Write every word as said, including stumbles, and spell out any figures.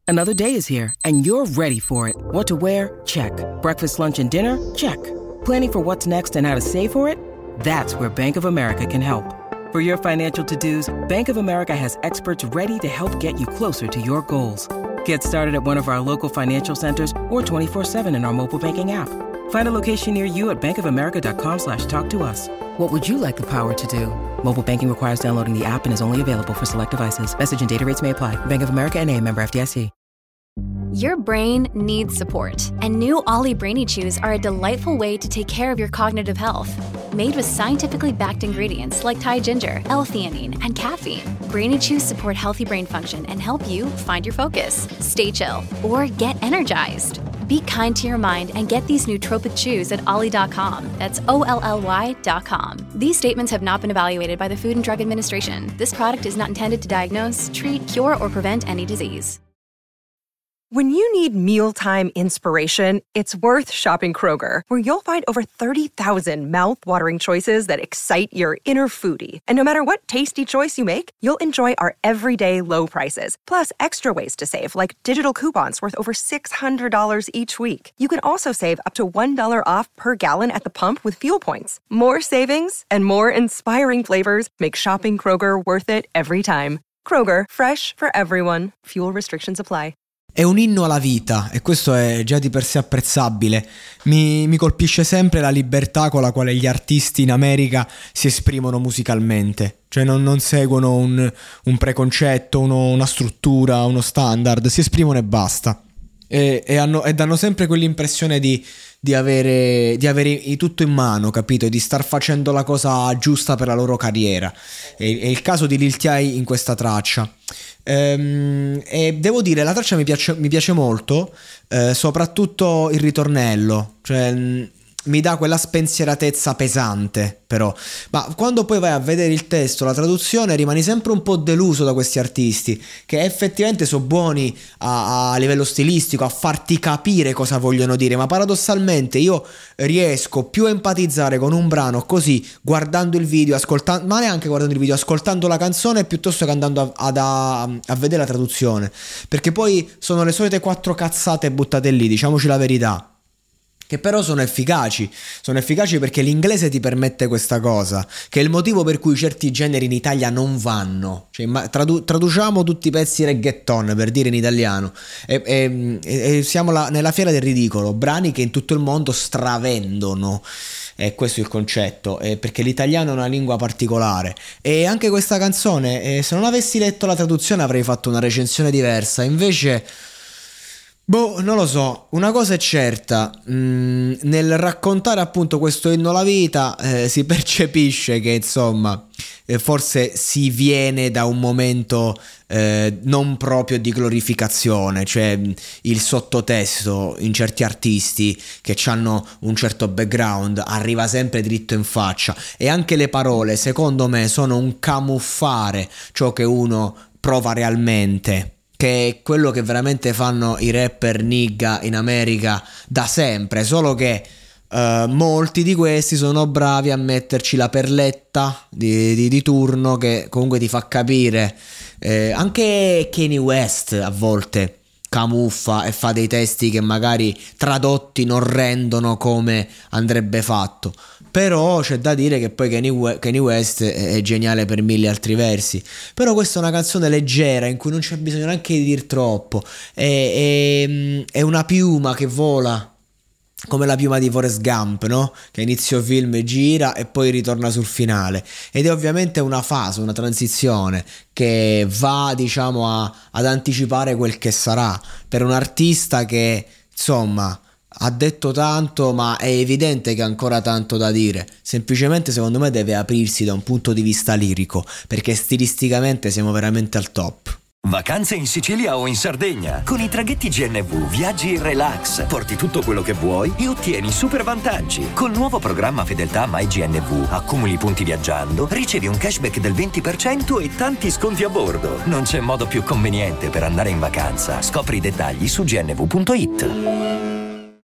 Another day is here, and you're ready for it. What to wear? Check. Breakfast, lunch, and dinner? Check. Planning for what's next and how to save for it? That's where Bank of America can help. For your financial to-dos, Bank of America has experts ready to help get you closer to your goals. Get started at one of our local financial centers or twenty-four seven in our mobile banking app. Find a location near you at bankofamerica.com slash talk to us. What would you like the power to do? Mobile banking requires downloading the app and is only available for select devices. Message and data rates may apply. Bank of America N A, member F D I C. Your brain needs support, and new Ollie Brainy Chews are a delightful way to take care of your cognitive health. Made with scientifically backed ingredients like Thai ginger, L-theanine, and caffeine, Brainy Chews support healthy brain function and help you find your focus, stay chill, or get energized. Be kind to your mind and get these nootropic chews at ollie dot com. That's O L L Y dot com. These statements have not been evaluated by the Food and Drug Administration. This product is not intended to diagnose, treat, cure, or prevent any disease. When you need mealtime inspiration, it's worth shopping Kroger, where you'll find over thirty thousand mouth-watering choices that excite your inner foodie. And no matter what tasty choice you make, you'll enjoy our everyday low prices, plus extra ways to save, like digital coupons worth over six hundred dollars each week. You can also save up to one dollar off per gallon at the pump with fuel points. More savings and more inspiring flavors make shopping Kroger worth it every time. Kroger, fresh for everyone. Fuel restrictions apply. È un inno alla vita e questo è già di per sé apprezzabile. Mi, mi colpisce sempre la libertà con la quale gli artisti in America si esprimono musicalmente. Cioè non, non seguono un, un preconcetto, uno, una struttura, uno standard, si esprimono e basta. E, e, hanno, e danno sempre quell'impressione di, di avere, di avere tutto in mano, capito? E di star facendo la cosa giusta per la loro carriera. È, è il caso di Lil T.I. in questa traccia. Ehm, e devo dire, la traccia mi piace, mi piace molto, eh, soprattutto il ritornello. Cioè mh, mi dà quella spensieratezza pesante, però. Ma quando poi vai a vedere il testo, la traduzione, rimani sempre un po' deluso da questi artisti che effettivamente sono buoni a, a livello stilistico a farti capire cosa vogliono dire, ma paradossalmente io riesco più a empatizzare con un brano così guardando il video, ascoltando, ma neanche guardando il video, ascoltando la canzone piuttosto che andando a, a, a vedere la traduzione, perché poi sono le solite quattro cazzate buttate lì, diciamoci la verità, che però sono efficaci, sono efficaci perché l'inglese ti permette questa cosa, che è il motivo per cui certi generi in Italia non vanno. Cioè, tradu- traduciamo tutti i pezzi reggaeton, per dire in italiano, e, e, e siamo la, nella fiera del ridicolo, brani che in tutto il mondo stravendono. E questo è il concetto, eh, perché l'italiano è una lingua particolare. E anche questa canzone, eh, se non avessi letto la traduzione avrei fatto una recensione diversa, invece... Boh, non lo so, una cosa è certa, mh, nel raccontare appunto questo inno alla vita eh, si percepisce che insomma eh, forse si viene da un momento eh, non proprio di glorificazione, cioè il sottotesto in certi artisti che hanno un certo background arriva sempre dritto in faccia, e anche le parole secondo me sono un camuffare ciò che uno prova realmente, che è quello che veramente fanno i rapper nigga in America da sempre, solo che uh, molti di questi sono bravi a metterci la perletta di, di, di turno che comunque ti fa capire. Eh, anche Kanye West a volte camuffa e fa dei testi che magari tradotti non rendono come andrebbe fatto, però c'è da dire che poi Kanye West è geniale per mille altri versi. Però questa è una canzone leggera in cui non c'è bisogno neanche di dir troppo, è, è, è una piuma che vola come la piuma di Forrest Gump, no? Che inizio film gira e poi ritorna sul finale, ed è ovviamente una fase, una transizione che va, diciamo, a, ad anticipare quel che sarà per un artista che insomma ha detto tanto, ma è evidente che ha ancora tanto da dire. Semplicemente secondo me deve aprirsi da un punto di vista lirico, perché stilisticamente siamo veramente al top. Vacanze in Sicilia o in Sardegna. Con i traghetti G N V viaggi in relax, porti tutto quello che vuoi e ottieni super vantaggi. Col nuovo programma Fedeltà MyGNV accumuli punti viaggiando, ricevi un cashback del venti per cento e tanti sconti a bordo. Non c'è modo più conveniente per andare in vacanza. Scopri i dettagli su gnv punto it.